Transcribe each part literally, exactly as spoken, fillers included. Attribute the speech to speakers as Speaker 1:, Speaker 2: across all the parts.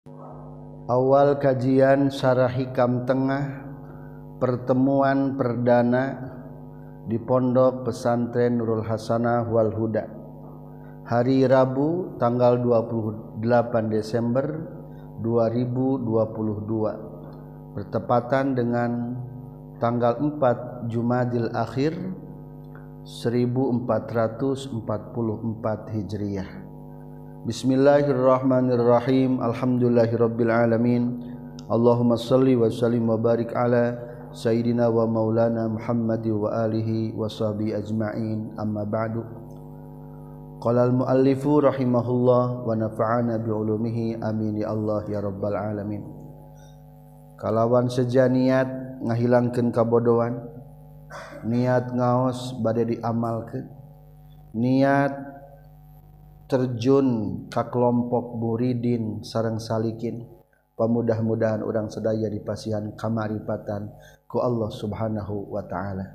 Speaker 1: Awal kajian Syarah Hikam Tengah, pertemuan perdana di Pondok Pesantren Nurul Hasanah wal Huda, hari Rabu tanggal dua puluh delapan Desember dua ribu dua puluh dua, bertepatan dengan tanggal empat Jumadil Akhir seribu empat ratus empat puluh empat Hijriah. Bismillahirrahmanirrahim. Alhamdulillahirabbil alamin. Allahumma shalli wa sallim wa barik ala sayyidina wa maulana Muhammad wa alihi wa sahbihi ajma'in. Amma ba'du. Qala al-muallifu rahimahullah wa nafa'ana bi ulumihi amin ya Allah ya rabbal alamin. Kalawan seja niat ngahilangkeun kabodohan, niat ngaos bade diamalkeun, niat terjun ka kelompok muridin sareng salikin, pamudah-mudahan urang sadaya dipasihan kamaripatan ku Allah Subhanahu wa taala.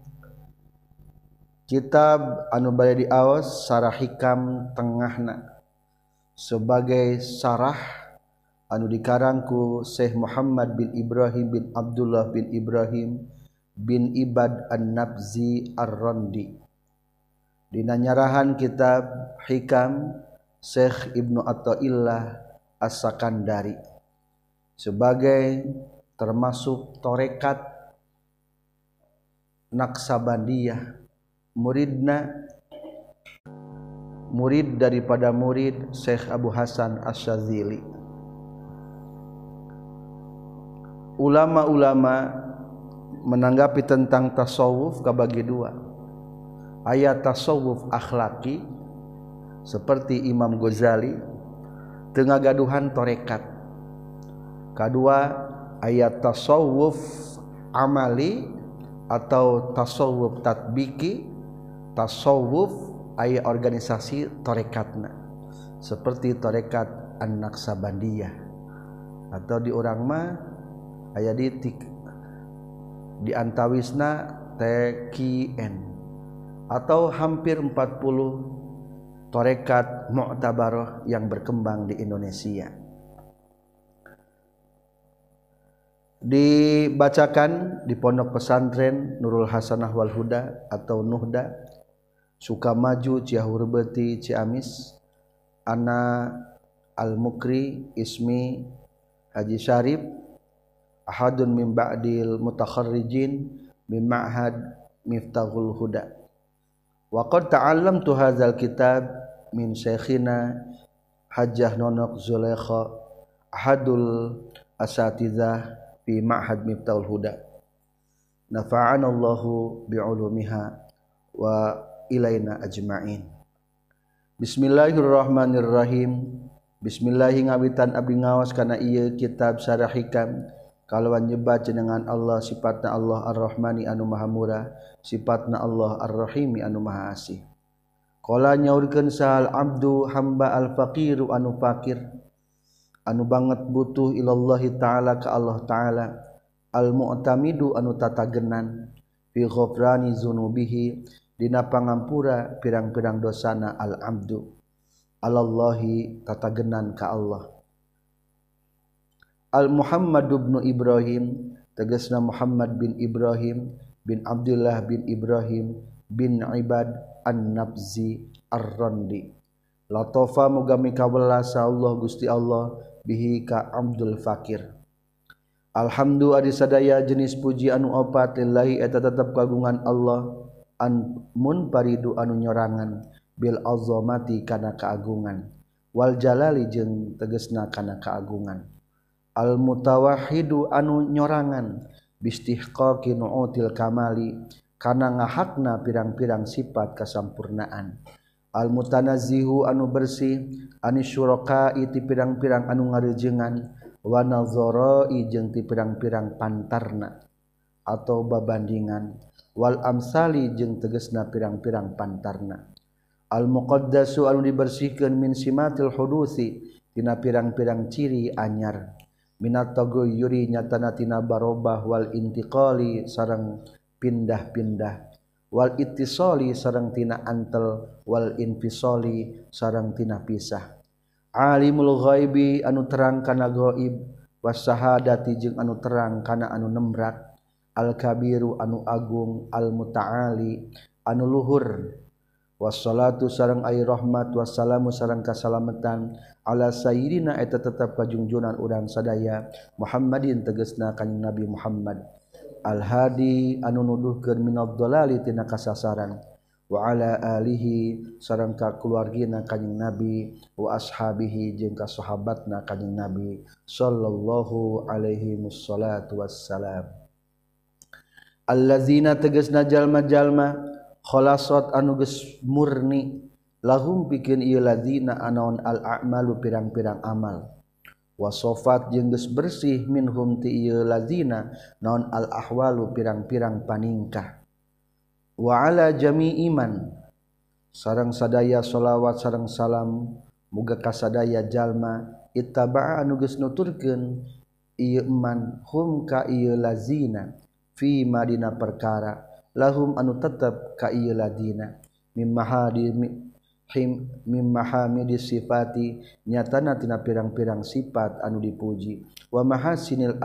Speaker 1: Kitab anu bade diaos Syarah Hikam Tengahna sebagai syarah anu dikarang ku Syekh Muhammad bin Ibrahim bin Abdullah bin Ibrahim bin Ibad An-Nabzi Ar-Randi. Dina nyarahan kitab Hikam Syekh Ibnu Athaillah As-Sakandari sebagai termasuk torekat Naqsabandiyah, muridna murid daripada murid Syekh Abu Hasan Asy-Syadzili. Ulama-ulama menanggapi tentang tasawuf kabagi dua. Ayat tasawuf akhlaki seperti Imam Ghazali tengah gaduhan torekat. Kedua, ayat tasawuf amali atau tasawuf tatbiki, tasawuf ayat organisasi torekatna seperti torekat An-Naqsabandiyah atau di urang mah aya di di antawisna T Q N atau hampir empat puluh torekat mu'tabarah yang berkembang di Indonesia. Dibacakan di Pondok Pesantren Nurul Hasanah wal Huda atau Nuhda, Sukamaju, Ciahurbeti, Ciamis. Ana Al-Mukri Ismi Haji Syarif, ahadun min ba'dil mutakharrijin min ma'had Miftahul Huda. Wa qad ta'allamtu hadzal kitab min syekhina Hajjah Nonok Zulaikha, ahadul asatizah fi ma'had Miftahul Huda. Nafa'ana Allahu bi'ulumiha wa ilaina ajma'in. Bismillahirrahmanirrahim. Bismillahi ngawitan abdi ngaos kana ieu kitab Syarah Hikam kalawan nyebat jenengan Allah, sifatna Allah Ar-Rahmani anu maha murah, sifatna Allah Ar-Rahimi anu maha asih. Qala nyaurkeun sahal abdu hamba al-faqiru anu fakir, anu banget butuh ilallahi ta'ala ka Allah ta'ala, al-mu'tamidu anu tatagenan fi ghufrani dzunubihi dina pangampura pirang-pirang dosana al-abdu, alallahi tatagenan ka Allah. Al-Muhammad bin Ibrahim tegasna Muhammad bin Ibrahim bin Abdullah bin Ibrahim bin Ibad An-Nabzi Ar-Randi. Latofa muga mikawelas Allah Gusti Allah bihi ka Abdul Fakir. Alhamdu adi sadaya jenis puji anu opat lillahi eta tetep kagungan Allah an munfaridu anu nyorangan bil azamati kana kaagungan wal jalali jeung tegasna kana kaagungan. Al mutawahhidu anu nyorangan bistihqaqi nu'util kamali kana ngahakna pirang-pirang sifat kasampurnaan. Al mutanazzihu anu bersih anis syuraka ti pirang-pirang anu ngareujeungan wa nazara'i jeung ti pirang-pirang pantarna atau babandingan wal amsali jeung tegasna pirang-pirang pantarna. Al muqaddasu anu dibersihkeun min simatil hudusi tina pirang-pirang ciri anyar, minat tagoyuri nyatana tina barobah wal intiqali sareng pindah-pindah, wal ittisali sareng tina antel, wal infisali sareng tina pisah. alimul ghaibi anu terang kana ghaib wasyahadati jeung anu terang kana anu nembrak al kabiru anu agung al mutaali anu luhur wassalatu sareng ai rahmat wassalamu sareng kasalametan ala sayyidina eta tetep kajungjunan urang sadaya Muhammadin tegasna kanjing Nabi Muhammad al hadi anu nuduhkeun minad dhalali tina kasasaran wa ala alihi sareng ka keluargina kanjing Nabi wa ashabihi jeung ka sahabatna kanjing Nabi sallallahu alaihi wassalatu wassalam allazina tegasna jalma-jalma khalasat anu geus murni lahum pikeun ieu ladzina anaon al a'malu pirang-pirang amal wasofat jeung geus bersih minhum ti ieu ladzina naon al ahwalu pirang-pirang paningkah wa ala jami'i man sareng sadaya shalawat sareng salam muga ka sadaya jalma ittaba'a anu geus nuturkeun ieu man hum ka ieu ladzina fi madina perkara lahum anu tetep ka ieu ladina mimmaha mimmahamidi sifati nyatana tina pirang-pirang sifat anu dipuji wa mahasinil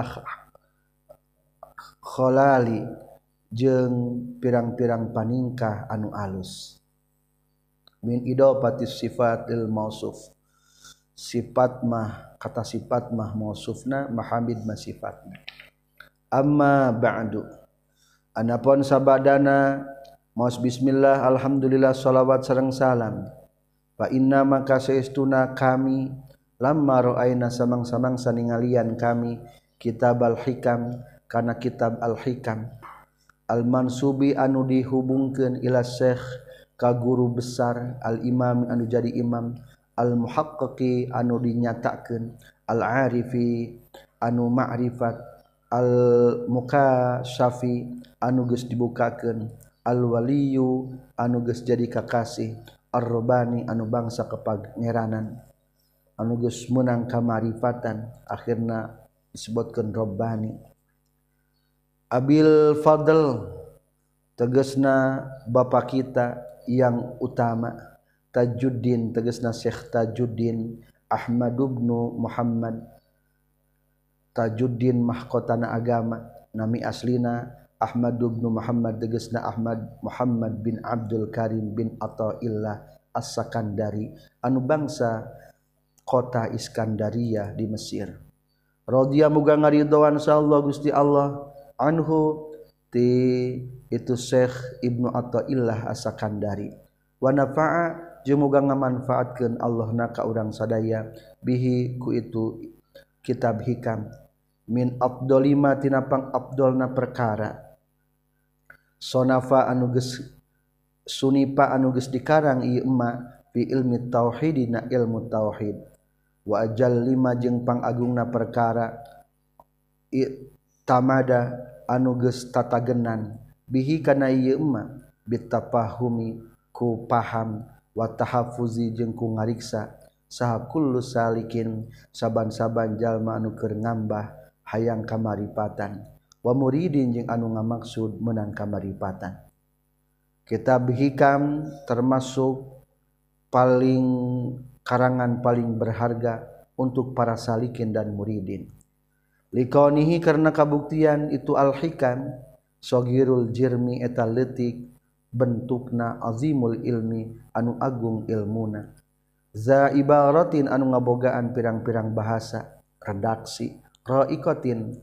Speaker 1: akhlali jeung pirang-pirang paningkah anu alus min idafatis sifatil mausuf sifat mah kata sifat mah mausufna mahamid mah sifatna amma ba'du anapun sabadana maos bismillah alhamdulillah shalawat sareng salam fa inna maka saestuna kami lamma ra'aina samang-samang saningalian kami kitab al-hikam kana kitab al-hikam al-mansubi anu dihubungkeun ila syekh ka guru besar al-imam anu jadi imam al-muhaqqiqi anu dinyatakeun al-arifi anu ma'rifat al-mukasyafi anu geus dibukakeun al-waliyu anu geus jadi kakasih ar-rabbani anu bangsa kepangeranan anu geus meunang kamarifatan akhirna disebutkeun rabbani abil fadl tegasna bapa kita yang utama Tajuddin tegasna Syekh Tajuddin Ahmad bin Muhammad Tajuddin mahkotana agama nami aslina Ahmad bin Muhammad tegasna Ahmad Muhammad bin Abdul Karim bin Athaillah As-Sakandari anu bangsa kota Iskandariyah di Mesir radhiya muga ngaridhoan sallallahu Gusti Allah anhu ti itu Syekh Ibnu Athaillah As-Sakandari wa nafa'a jeung muga ngamanfaatkeun Allahna ka urang sadaya bihi ku itu kitab hikam min afdolima tina pang afdolna perkara sonafa anu geus sunipa anu geus dikarang ieu emma fi ilmi tauhid dina ilmu tauhid wa ajal lima jeung pang agungna perkara tamada anu geus tatagenan bihi kana ieu emma bitafahumi ku paham wa tahaffuzi jeung ku ngariksa saha kullu salikin saban-saban jalma anu keur ngambah hayang kamaripatan wa muridin jeung anu ngamaksud meunang kamaripatan kitab hikam termasuk paling karangan paling berharga untuk para salikin dan muridin liqaunihi karena kabuktian itu al-hikam sogirul jirmi eta leutik bentukna azimul ilmi anu agung ilmuna za ibaratin anu ngabogaan pirang-pirang bahasa redaksi ra'iqatin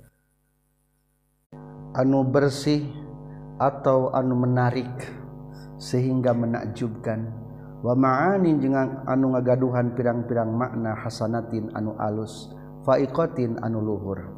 Speaker 1: anu bersih atau anu menarik sehingga menakjubkan wa ma'anin jeung anu ngagaduhan pirang-pirang makna hasanatin anu alus fa'iqatin anu luhur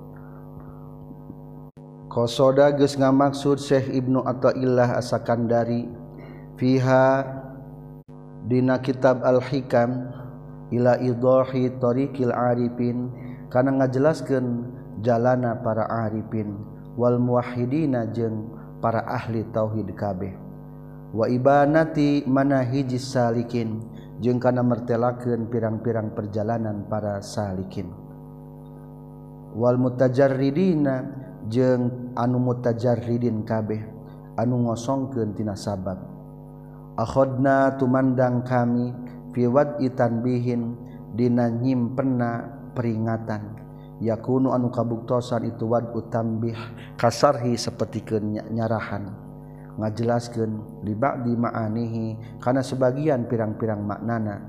Speaker 1: qasoda geus ngamaksud Syekh Ibnu Athaillah As-Sakandari fiha dina kitab al-hikam ila idahi tariqil arifin kana ngajelaskeun jalana para arifin wal muwahhidina jeung para ahli tauhid kabeh wa ibanati manahijis salikin jeung kana mertelakeun pirang-pirang perjalanan para salikin wal mutajarridina jeung anu mutajarridin kabeh anu ngosongkeun tina sabab akhodna tumandang kami fi wad'i tanbihin dina nyimpenna peringatan yakunu anu kabuktosan itu wad utambih kasarhi sapertikeun nyarahan ngajelaskeun li ba'di ma'anihi kana sebagian pirang-pirang maknana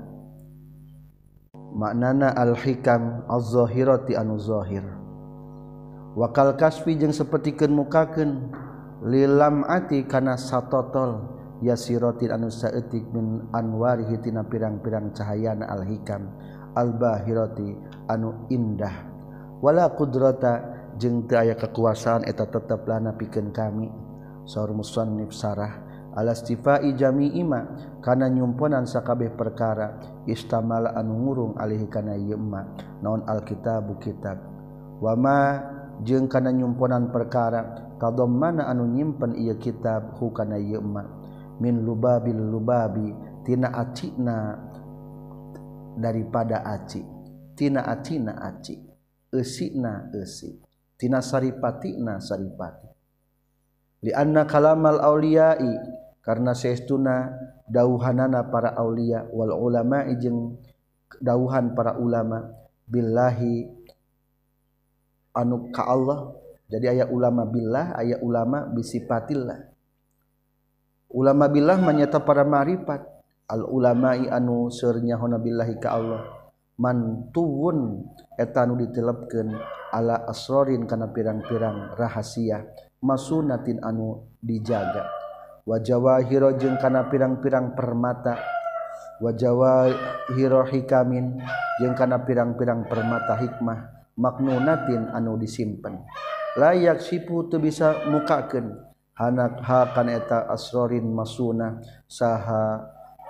Speaker 1: maknana al-hikam az-zahirati anu zahir wakal kasfi jeung sapertikeun mukakeun lilam ati kana satotol yasiratin anu saeutik min anwarihi tina pirang-pirang cahayana al-hikam al-bahirati anu indah wala qudrata jeung teu aya kekuasaan eta tetep lana pikeun kami saur musannif sarah alastifai jami'i ma kana nyumponan sakabeh perkara istamala anu ngurung alih kana ieu ma naon alkitabu kitab wa ma jeung kana nyumponan perkara tadammana anu nyimpen ieu kitab hu kana ieu ma min lubabil lubabi tina acina daripada aci tina acina aci eusina eusi tina saripatina saripati li anna kalamal auliyai karna saestuna dauhanana para aulia wal ulama jeung dauhan para ulama billahi anu ka Allah jadi aya ulama billah aya ulama bisifatillah ulama billah manyata para ma'rifat al ulama'i anu seur nyahona billahi ka Allah mantuwun eta anu ditelepkeun ala asrorin kana pirang-pirang rahasia masunatin anu dijaga wa jawahira jeung kana pirang-pirang permata wa jawahira hikamin jeung kana pirang-pirang permata hikmah maknunatin anu disimpen layak sipu teu bisa mukakeun hanak ha kana eta asrorin masuna saha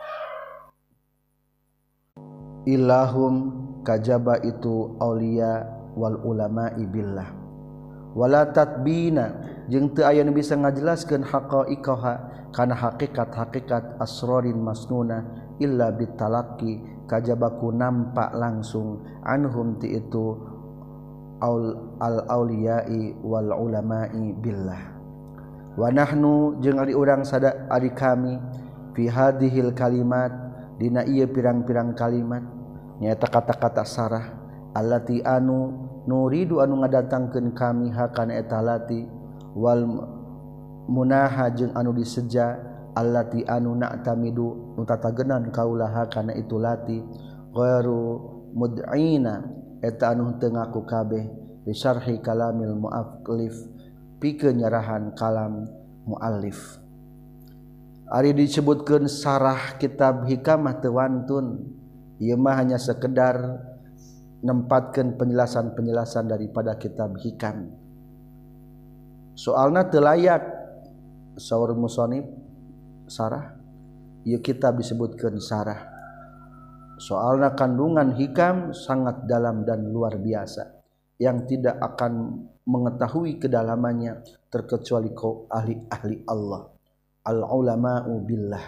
Speaker 1: ilahum kajaba itu aulia wal ulama'i billah wala tatbina jeung teu aya nu bisa ngajelaskeun haqaiqaha kana hakikat-hakikat asrorin masnuna illa bitalaqi kajaba ku nampak langsung anhum ti itu al auliyai wal ulama'i billah wa nahnu jeung ari urang sada ari kami fi hadhil kalimat dina ieu pirang-pirang kalimat nyaeta kata-kata sarah allati anu nuridu anu ngadatangkeun kami hakana eta lati wal munaha jeung anu diseja allati anu na'tamidu nu tatagenan kaulaha kana itu lati ghairu mud'ina eta anu teu ngaku kabeh bi syarhi kalamil muallif pikeun nyarahan kalam muallif ari disebutkeun sarah kitab hikamah teu wantun ieu mah hanya sekedar nempatkeun penjelasan-penjelasan daripada kitab hikam soalna teu layak saur musannif sarah ieu kitab disebutkeun sarah soalna kandungan hikam sangat dalam dan luar biasa yang tidak akan mengetahui kedalamannya terkecuali kau ahli-ahli Allah al ulama'u billah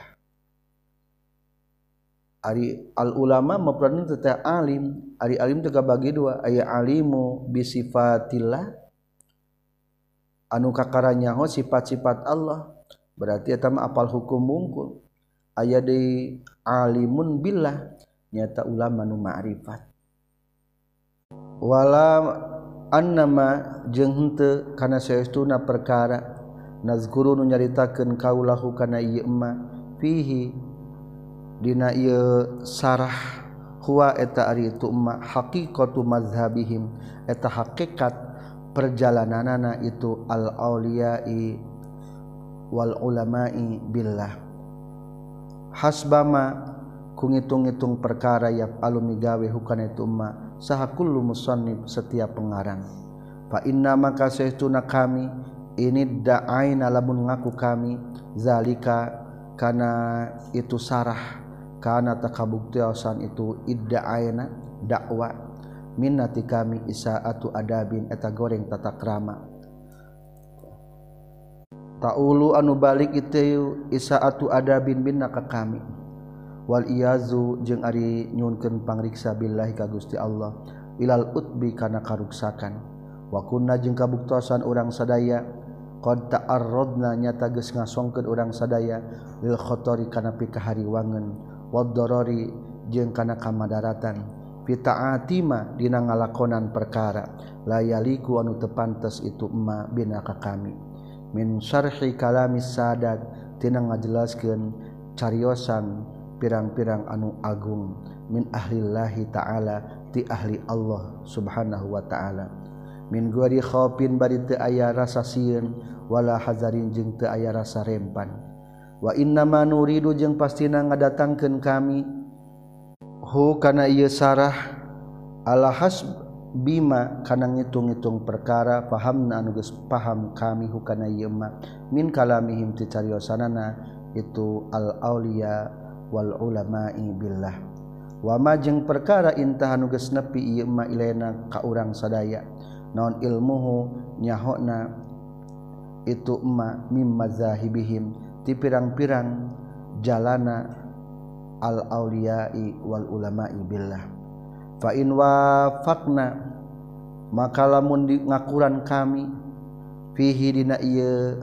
Speaker 1: ari al ulama mapranna teh alim ari alim teh kabagi dua aya alimu bi sifatillah anu kakaranya ho sifat-sifat Allah berarti eta mah apal hukum wungkul aya deui alimun billah nyata ulama nu ma'rifat wala annama jeung henteu kana saestuna perkara nazkuru nu nyaritakeun kaulahu kana ieu emma fihi dina ieu sarah huwa eta ari itu emma haqiqatu mazhabihim eta hakikat perjalananana itu al auliyai wal ulama'i billah hasbama ku ngitung-ngitung perkara ya alumi gawe hukana itu emma saha kullu musannif setiap pengarang fa inna maka saestuna kami ini da'aina lamun ngaku kami zalika kana itu sarah kana takabuktiasan itu idda'aina dakwah minnati kami isaatu adabin eta goreng tata krama taulu anu balik itu isaatu adabin binna ka kami wal iyazu jeung ari nyunkeun pangriksa billahi ka Gusti Allah ilal utbi kana karuksakan wa kunna jeung kabuktosan urang sadaya qad ta'arradna nyata geus ngasongkeun urang sadaya lil khotori kana pikahariwangeun wad darari jeung kana kamadaratan fita'atima dina ngalakonan perkara layaliku anu teu pantes itu emma bina ka kami min syarhi kalamis sadat tina ngajelaskeun cariosan pirang-pirang anu agung min ahlillahi ta'ala ti ahli Allah subhanahu wa ta'ala min guari khaufin bari teu aya rasa sieun wala hazarin jeung teu aya rasa rempan wa inna ma nuridu jeung pastina ngadatangkeun kami hu kana ieu sarah ala hasb bima kana ngitung-ngitung perkara pahamna anu geus paham kami hu kana ieu ma min kalamihim ti cariosanana itu al auliya wal ulama'i billah wa ma jeung perkara intah anu geus nepi ieu ma ilaina ka urang sadaya naon ilmuhu nyahona itu emma mim mazahibihim ti pirang-pirang jalana al auliya'i wal ulama'i billah fa in wafaqna maka lamun di ngakuran kami fihi dina ieu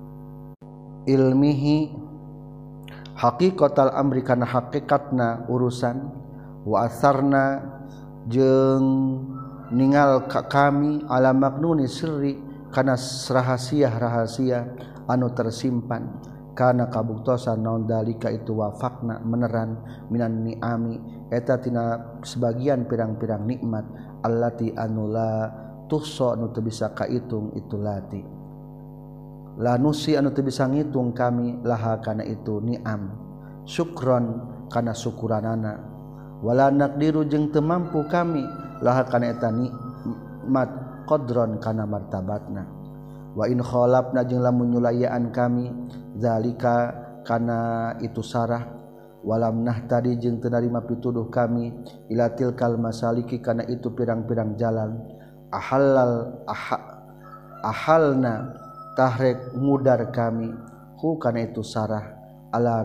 Speaker 1: ilmihi haqiqatal amri kana haqiqatna urusan wa asarna jeung ningal ka kami ala maknuni sirri kana rahasia-rahasia anu tersimpan kana kabuktosan naon dalika itu wafakna meneran minan ni'ami eta tina sebagian pirang-pirang nikmat allati anula tuhsa anu teu bisa kaitung itu lati lanusi anu teu bisa ngitung kami laha kana itu ni'am syukron kana syukuranana wala naqdiru jeung teu mampu kami laha kana eta nikmat qadron kana martabatna wa in khalafna jeung lamun nyulayaan kami zalika kana itu sarah walam nahtadi jeung teu narima pituduh kami ila tilkal masaliki kana itu pirang-pirang jalan ahallal aha, ahalna tahrek ngudar kami hu kana itu sarah ala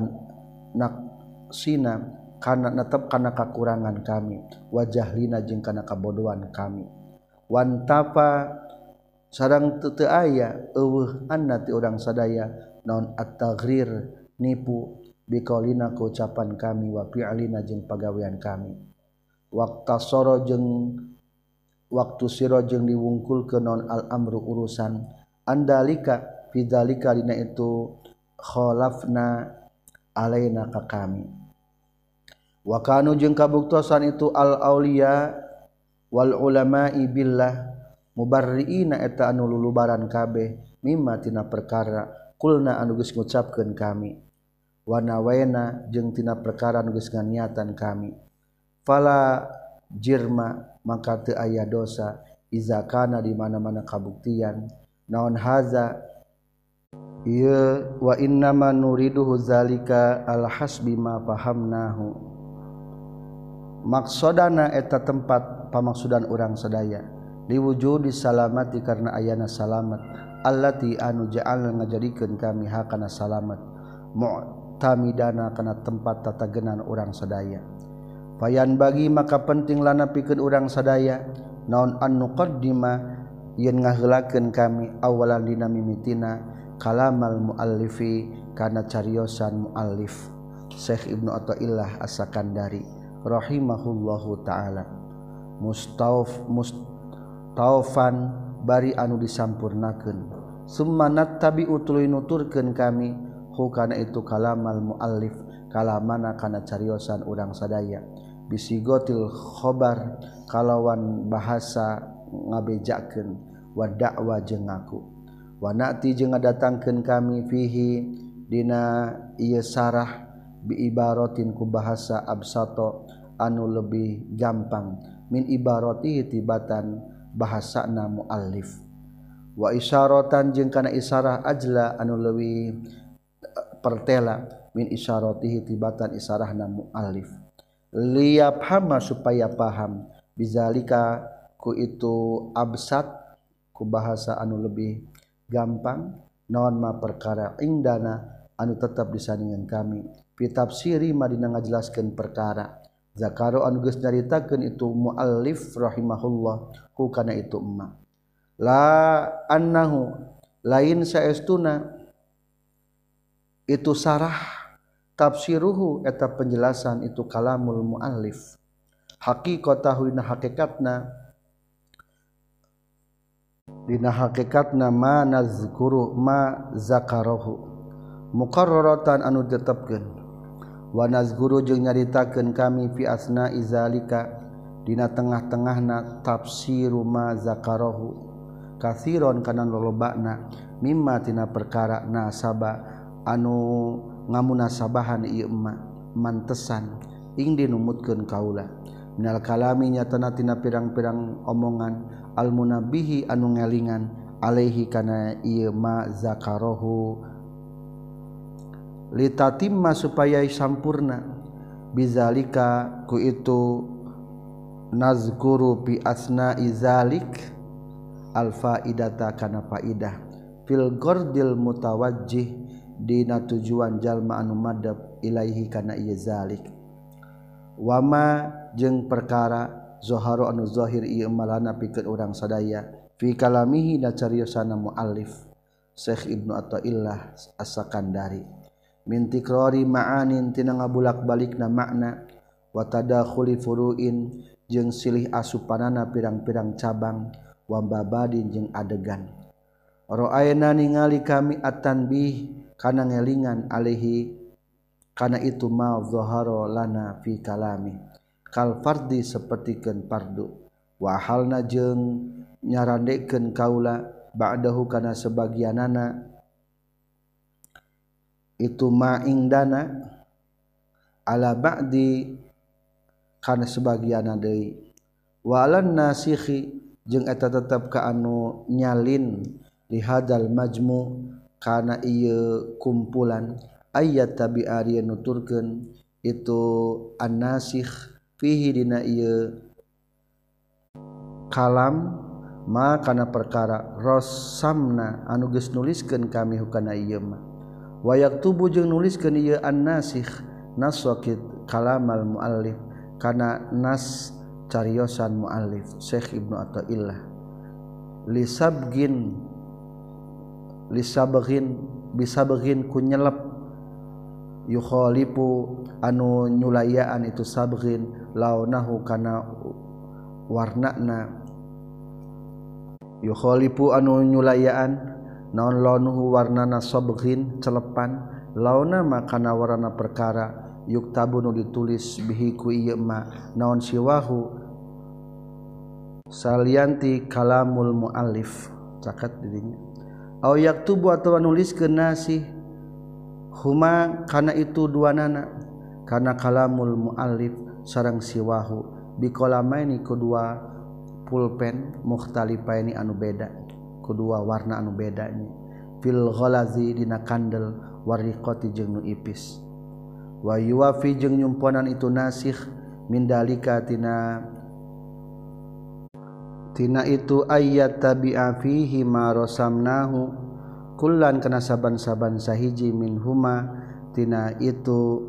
Speaker 1: naqsina kana netep kana kakurangan kami wajahlina jeung kana kabodohan kami wantapa sareng teu teu aya eueuh anna ti urang sadaya naon at-taghrir nipu biqaulina ku ucapan kami wa fi'lina jeung pagawean kami waqta soro jeung waktu sira jeung diwungkulkeun naon al-amru urusan andalika fidzalika dina itu khalafna alaina ka kami wa kanu jeung kabuktosan itu al auliya wal ulama'i billah mubarriina eta anu lulubaran kabeh mimma tina perkara kulna anu geus ngucapkeun kami wa nawaina jeung tina perkara anu geus nganiatan kami fala jirma maka teu aya dosa iza kana di mana-mana kabuktian naon haza ieu wa innama nuriduhu zalika al hasbi ma fahamnahu maksudana eta tempat pamaksudan urang sadaya diwujudi salamati karena ayana salamat allati anu ja'al ngajadikeun kami hakana salamat mu'tamidana kana tempat tatagenan urang sadaya fayan bagi maka penting lana pikeun urang sadaya naon an nuqaddima yen ngaheulakeun kami awalan dina mimitina kalamal muallifi kana cariosan muallif Syekh Ibnu Athaillah As-Sakandari rahimahullahu taala mustauf mustawfan bari anu disampurnakeun summa nattabi'u tuluy nuturkeun kami hu kana itu kalamal muallif kalamana kana cariosan urang sadaya bisigotil khobar kalawan bahasa ngabejakeun wa da'wa jeung ngaku wa na'ti jeung ngadatangkeun kami fihi dina ieu sarah bi ibaratin ku bahasa absato anu lebih gampang min ibarati tibatan bahasana muallif wa isyaratan jeung kana isarah ajla anu leuwih pertela min isyaratihi tibatan isarahna muallif liyafhama supaya paham bizalika ku itu absat ku bahasa anu lebih gampang naon ma perkara indana anu tetap disandingan kami fi tafsiri madina ngajelaskeun perkara zakaro anu geus nyaritakeun itu muallif rahimahullah ku kana itu emma la annahu lain saestuna itu sarah tafsiruhu eta penjelasan itu kalamul muallif haqiqatahu dina hakikatna dina hakikatna ma nazkuru ma zakarahu muqarraratan anu tetepkeun wa nazkuru jeung nyaritakeun kami fi asna izalika dina tengah-tengahna tafsiru ma zakarahu katsiron kana lolobana mimma tina perkara nasaba anu ngamunasabahan ieu ma mantesan ing dinumutkeun kaula minal kalami nyatana tina pirang-pirang omongan al munabihi anu ngelingan alaihi kana ieu ma zakarahu litatimma supaya sampurna bizalika ku itu nazkuru bi asna izalik al faidata kana faidah fil gordil mutawajjih dina tujuan jalma anu madhab ilaihi kana ieu zalik wama jeung perkara zahara anu zahir ieu malana pikeun urang sadaya fi kalamihi da cariosana muallif Syekh Ibnu Athaillah As-Sakandari min tikrari ma'anin tina ngabulak-balikna makna wa tadakhuli furu'in jeung silih asupanana pirang-pirang cabang wa babadin jeung adegan ra'ayna ningali kami at-tanbih kana ngelingan alaihi kana itu ma zahara lana fi kalami kal fardi sapertikeun fardu wa halna jeung nyarandekeun kaula ba'dahu kana sebagianana itu ma indana ala ba'di kana sebagianna deui wa alan nasikhi jeung eta tetep ka anu nyalin li hadal majmu kana ieu kumpulan ayat tabi'ari nuturkeun itu an-nasikh fihi dina ieu kalam ma kana perkara rasamna anu geus nuliskeun kami hukana ieu mah wa yaktubu jeung nuliskeun ieu an-nasikh naswakit kalamal muallif kana nas cariosan muallif Syekh Ibnu Athaillah lisabgin lisabgin bisabgin ku nyelep yukhalifu anu nyulayaan itu sabgin launahu kana warnana yukhalifu anu nyulayaan naon launuhu warnana sabgin celepan launa makana warna perkara yuktabu nu ditulis bihi ku ieu ma naon siwahu salianti kalamul muallif caket didinya au yaktubu atawa nuliskeun nasi huma kana itu duanana kana kalamul muallif sareng siwahu biqalamaini kedua pulpen mukhtalifaini anu beda kedua warna anu beda nya fil ghalazi dina kandel wariqati jeung nu ipis wa yuwafi jeung nyumponan itu nasikh min dalika tina tina itu ayat tabi'a fihi ma rasamnahu kullan kana saban-saban sahiji min huma tina itu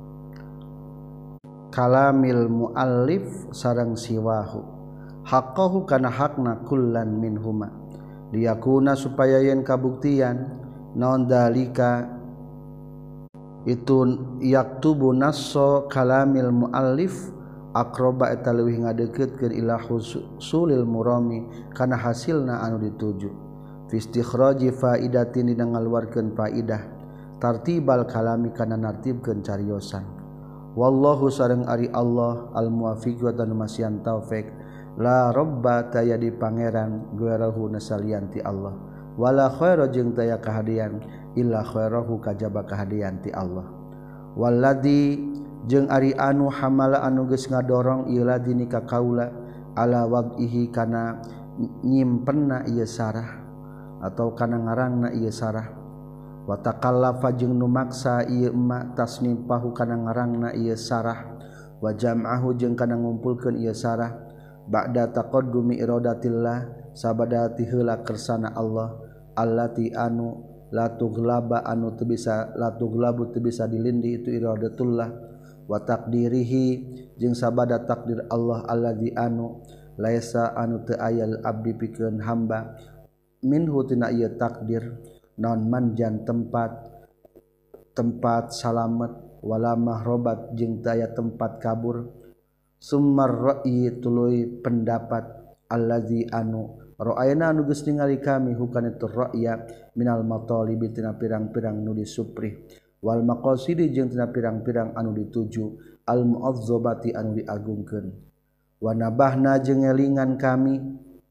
Speaker 1: kalamil muallif sareng siwahu haqqahu kana hakna kullan min huma liyakuna supaya yen kabuktian naon dalika itu yaktubu nasso kalamil muallif aqraba eta leuwih ngadeukeukeun ila husulil murami kana hasilna anu dituju fi istikhraji faidatin dina ngaluarkeun faidah tartibal kalami kana nartibkeun cariosan wallahu sareng ari Allah al muwaffiq wa tanu masian taufik la robba taya di pangeran guerahu nasalianti Allah wala khaira jeung taya kahadian illa khairahu kajaba kahadian ti Allah walladzi jeung ari anu hamala anu geus ngadorong ieu ladzi ka kaula ala wadihi kana nyimpenna ieu sarah atau kana ngarangna ieu sarah wa taqallafa jeung nu maksa ieu ma tasnifahu kana ngarangna ieu sarah wa jam'ahu jeung kana ngumpulkeun ieu sarah ba'da taqaddumi iradatillah sabada ti heula kersana Allah allati anu la tughlaba anu teu bisa la tughlabu teu bisa dilindi itu iradatullah wa taqdirihi jeung sabada takdir Allah alladzi anu laisa anu teu aya abdi pikeun hamba minhu tina ieu takdir naon manjan tempat tempat salamet wala mahrobat jeung teu aya tempat kabur summar ra'yi tuluy pendapat allazi anu ra'ayna anu geus ningali kami hukana itu ra'ya minal matalibi tina pirang-pirang nu disuprih wal maqasidi jeung tina pirang-pirang anu dituju al mu'azzabati anu diagungkeun wa nabahna jeung elingan kami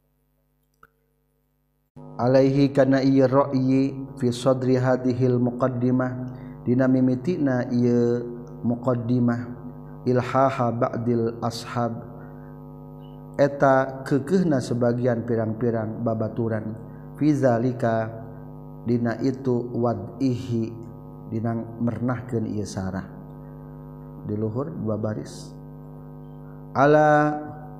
Speaker 1: alaihi kana ieu ra'yi fi sadri hadhil muqaddimah dina mimitina ieu muqaddimah ilhaha ba'dil ashab eta keukeuhna sebagian pirang-pirang babaturan fi zalika dina itu wad'ihi dina mernahkeun ieu sarah di luhur dua baris ala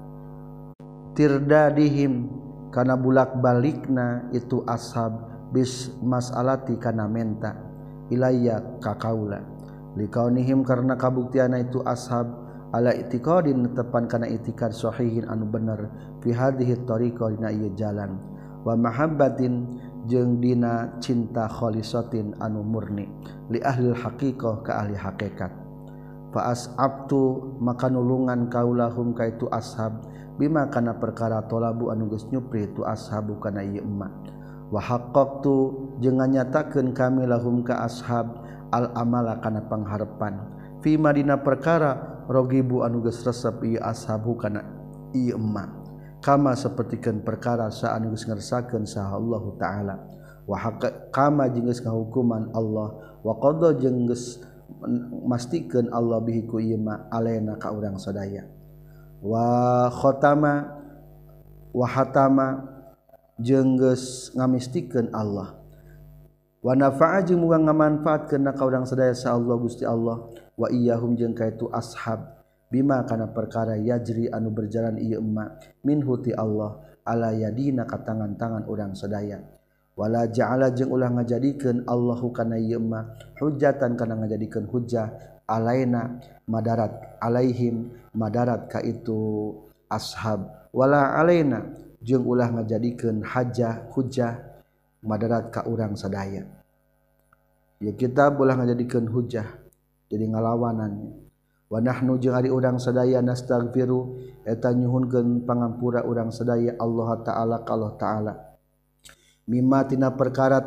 Speaker 1: tirdadihim kana bulak-balikna itu ashab bis mas'alati kana menta ilayya ka kaula likaunihim karena kabuktiana itu ashab ala itiqadin tepan kana itikad sahihin anu bener fi hadhihi tariqah dina ieu jalan wa mahabbatin jeung dina cinta khalisatin anu murni li ahli haqiqah ka ahli hakikat fa as'abtu maka nulungan kaulahum ka itu ashab bima kana perkara tolabu anu geus nyupri itu ashabu kana ieu emma wa haqqaqtu jeung nganyatakeun kami lahum ka ashab al amala kana pangharepan fi madina perkara rogibu anu geus resep ieu ashabu kana ieu emma kama sapertikeun perkara sa anu geus ngersakeun saha Allah taala wa haqqa kama jeung geus ngahukuman Allah wa qada jeung geus mastikeun Allah bihi ku ieu ma alaina ka urang sadaya wa khatama wa hatama jeung geus ngamistikeun Allah wa nafa'a jeung muga ngamanfaatkeun ka urang sadaya sa Allah Gusti Allah wa iyyahum jeung kaitu ashab bima kana perkara yajri anu berjalan ieu emma minhu ti Allah ala yadina ka tangan-tangan urang sadaya wala ja'ala jeung ulah ngajadikeun Allahu kana ieu emma hujjatan kana ngajadikeun hujjah alaina madarat alaihim madarat ka itu ashab wala alaina jeung ulah ngajadikeun hajjah hujjah madarat ka urang sadaya ya kita ulah ngajadikeun hujjah jadi ngalawanan wa nahnu jeung ari urang sadaya nastaghfiru eta nyuhunkeun pangampura urang sadaya Allah taala ka Allah taala mimma tina perkara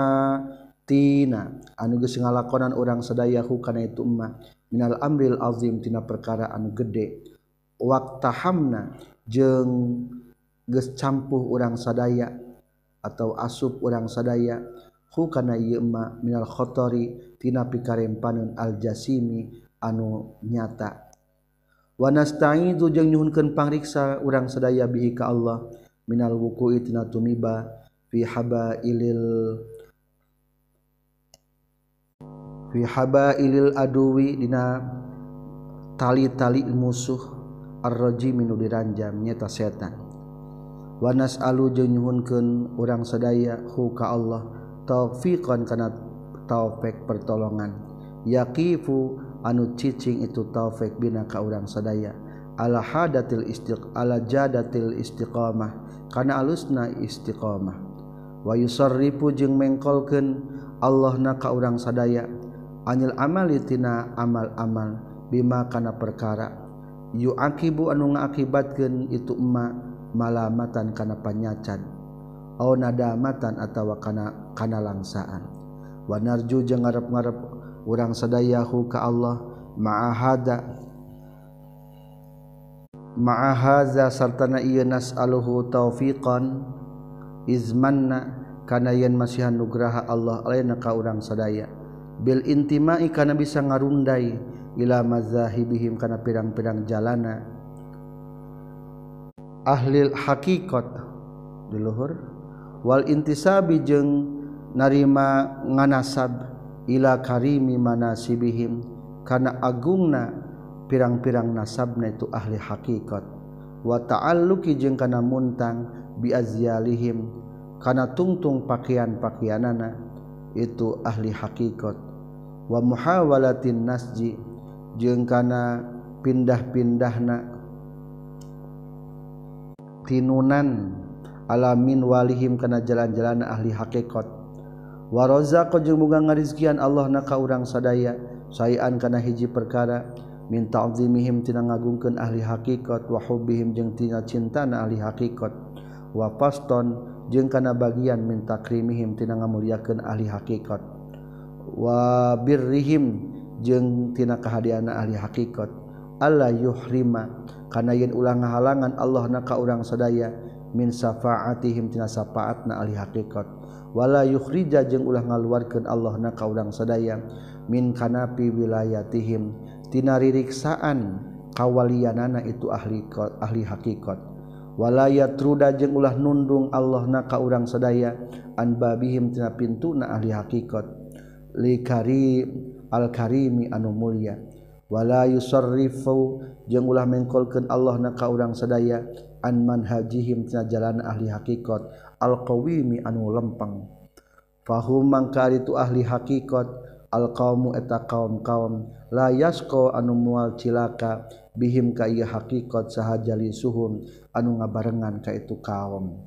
Speaker 1: ta'atina anu geus ngalakonan urang sadaya hukana itu emma minal amril azim tina perkara anu gede waqtahamna jeung geus campuh urang sadaya atau asup urang sadaya hukana ieu emma minal khatari tina pikarempaneun al jasimi anu nyata wa nasta'idu jeung nyuhunkeun pangriksa urang sadaya bihi ka Allah minal wuqu'i tina tumiba fi habailil fi habailil aduwi dina tali-tali musuh ar-rajim nu diranjam nyata setan wa nas'alu jeung nyuhunkeun urang sadaya hu ka Allah taufiqan kana taufik pertolongan yaqifu anu cicing itu taufik bina ka urang sadaya ala hadatil istiq ala jadatil istiqamah kana alusna istiqamah wa yusarrifu jeung mengkolkeun Allah na ka urang sadaya anil amali tina amal-amal bima kana perkara yu'aqibu anu ngaakibatkeun itu emma malamatan kana panyacan au nadamatan atawa kana kana langsaan wa narju jeung ngarep-ngarep urang sadaya hu ka Allah ma'ahada ma'ahaza sartana ieu nas'aluhu taufiqan izmanna kana yen masihan nugraha Allah alaina ka urang sadaya bil intimai kana bisa ngarundai ila mazahibihim kana pirang-pirang jalana ahlil haqiqat di luhur wal intisabi jeung narima nganasab ila karimi manasibihim kana agungna pirang-pirang nasabna itu ahli haqiqat wa ta'alluqi jeung kana muntang bi azyalihim kana tungtung pakaian-pakaianana itu ahli haqiqat wa muhawalatin nasji jeung kana pindah-pindahna tinunan alamin walihim kana jalan-jalan ahli hakikat wa razaqo jeung muga ngarizkian Allah na ka urang sadaya sayan kana hiji perkara min ta'zimihim tina ngagungkeun ahli hakikat wa hubbihim jeung tina cintana ahli hakikat wa faston jeung kana bagian min takrimihim tina ngamuliakeun ahli hakikat wa birrihim jeung tina kahadiana ahli hakikat alla yuhrima kana yen ulah ngahalangan Allah na ka urang sadaya min syafaatihim tina syafaatna ahli hakikat wala yukhrija jeung ulah ngaluarkeun Allah na ka urang sadaya min kanapi wilayatihim tina ririksaan kawalianana itu ahli ahli hakikat wala yatruda jeung ulah nundung Allah na ka urang sadaya an babihim tina pintuna ahli hakikat li kari al karimi anu mulia wala yusarrifu jeung ulah mengkolkeun Allah na ka urang sadaya an manhajihim tina jalan ahli hakikat al qawimi anu lempeng fahum mangka itu ahli hakikat al qaumu eta kaum-kaum la yasqa anu moal cilaka bihim ka ieu hakikat sahajali suhum anu ngabarengan ka itu kaum.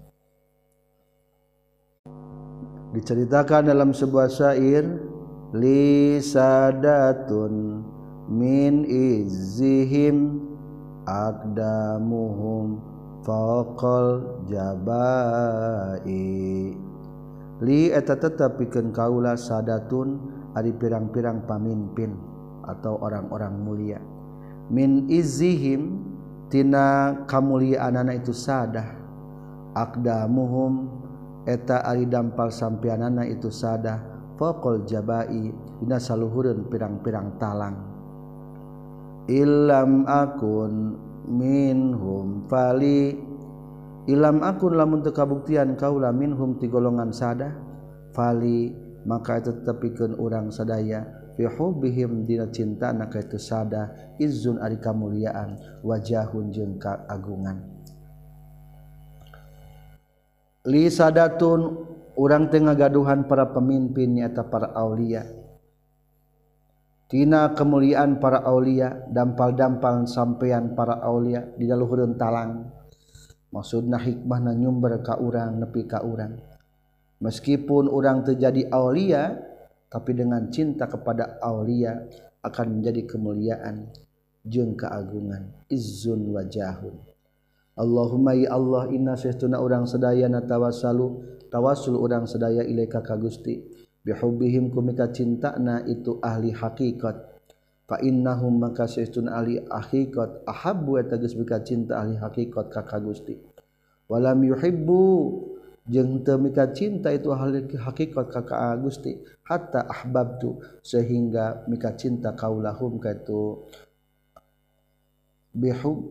Speaker 1: Diceritakan dalam sebuah syair li sadatun min izzihim aqdamuhum faqal jabai li eta tetep pikeun kaula sadatun ari pirang-pirang pamimpin atau orang-orang mulia min izzihim tina kamuliaanana itu sadah aqdamuhum eta ari dampal sampeanana itu sadah faqal jabai dina saluhureun pirang-pirang talang illam akun minhum fali ilam akun lamun teu kabuktian kaula minhum ti golongan sadah fali maka itu tetepikeun urang sadaya fi hubbihim dina cintana ka itu sadah izzun ari kamuliaan wajahun jeung kaagungan li sadatun urang teu ngagaduhan para pemimpin nyaeta para aulia tina kemuliaan para aulia dampal-dampal sampean para aulia di daluhureun talang maksudna hikmahna nyumber ka urang nepi ka urang meskipun urang terjadi aulia tapi dengan cinta kepada aulia akan menjadi kemuliaan jeung keagungan izzun wajahun Allahumma ya Allah inna saestuna urang sadaya natawassalu tawassul urang sadaya ilaika ka Gusti bihubbihim kumika cintana itu ahli hakikat fa innahum maka saestuna ahli hakikat ahabbu eta geus mika cinta ahli hakikat ka Gusti walam yuhibbu jeung teu mika cinta itu ahli hakikat ka Gusti hatta ahbabtu sehingga mika cinta kaulahum ka itu bihub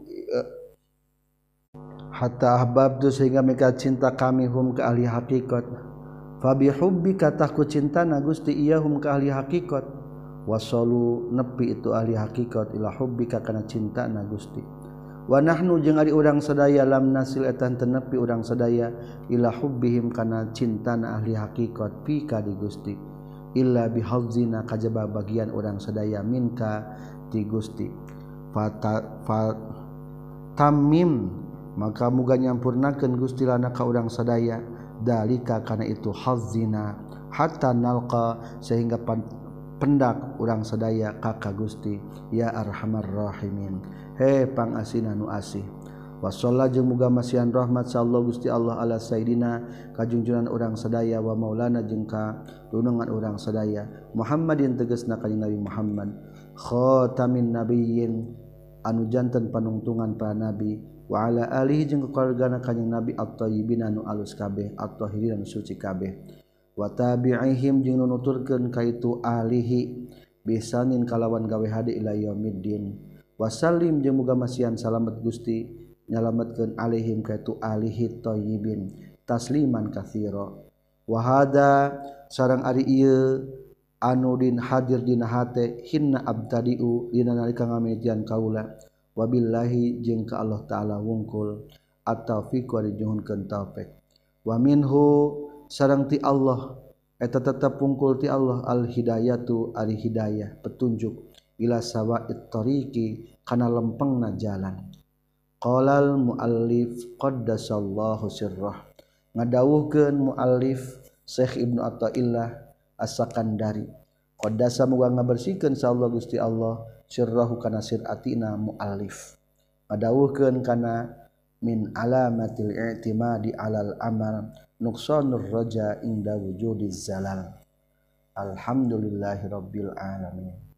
Speaker 1: hatta ahbabtu sehingga mika cinta kami hum ka ahli hakikat fa bihubbika tahku cintana Gusti iyahum ka ahli hakikat wasalu nepi itu ahli hakikat ila hubbika kana cintana Gusti wa nahnu jeung ari urang sadaya lam nasil etan tenepi urang sadaya ila hubbihim kana cintana ahli hakikat pika di Gusti illa bihazzina kajaba bagian urang sadaya minka ti Gusti fata fa tamim maka muga nyampurnakeun Gusti lana ka urang sadaya dalika kana itu hazzina hatta nalqa sehingga pendak urang sadaya ka Gusti ya arhamar rahimin he pangasina nu asih wa sallallahu jeung muga masihan rahmat sallallahu Gusti Allah ala sayidina kajungjunan urang sadaya wa maulana jeung ka dunungan urang sadaya Muhammadin tegasna kanjing Nabi Muhammad khatamin nabiyyin anu janten panungtungan para nabi wa ala alihi jeung keluargana kanjing Nabi at-thayyibin anu alus kabeh at-tahirin anu suci kabeh wa tabi'ihim jeung nuturkeun ka itu alihi bisanin kalawan gawe hade ila yaumiddin wasallim jeung muga masihan salamet Gusti nyalametkeun alaihim ka itu alihi thayyibin tasliman katsira wa hada sareng ari ieu anu din hadir dina hate hinna abtadiu dina nalika ngamejan kaula wabillahi jeung ka Allah taala wungkul at-taufiq wa dijuhunkeun taufik wa minhu sareng ti Allah eta tetep wungkul ti Allah al hidayatu ari hidayah petunjuk ila sawa'it tariqi kana lempengna jalan qalal muallif qaddasallahu sirrah ngadawuhkeun muallif Syekh Ibnu Athaillah As-Sakandari qadasa muga ngabersihkeun sa Allah Gusti Allah sirrahu kana sir atina muallif ngadawuhkeun kana min alamatil i'timadi alal amal nuqsanur raja inda wujudiz zalal. Alhamdulillahirabbil alamin.